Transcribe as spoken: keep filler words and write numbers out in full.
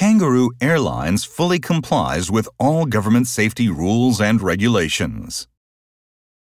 Kangaroo Airlines fully complies with all government safety rules and regulations.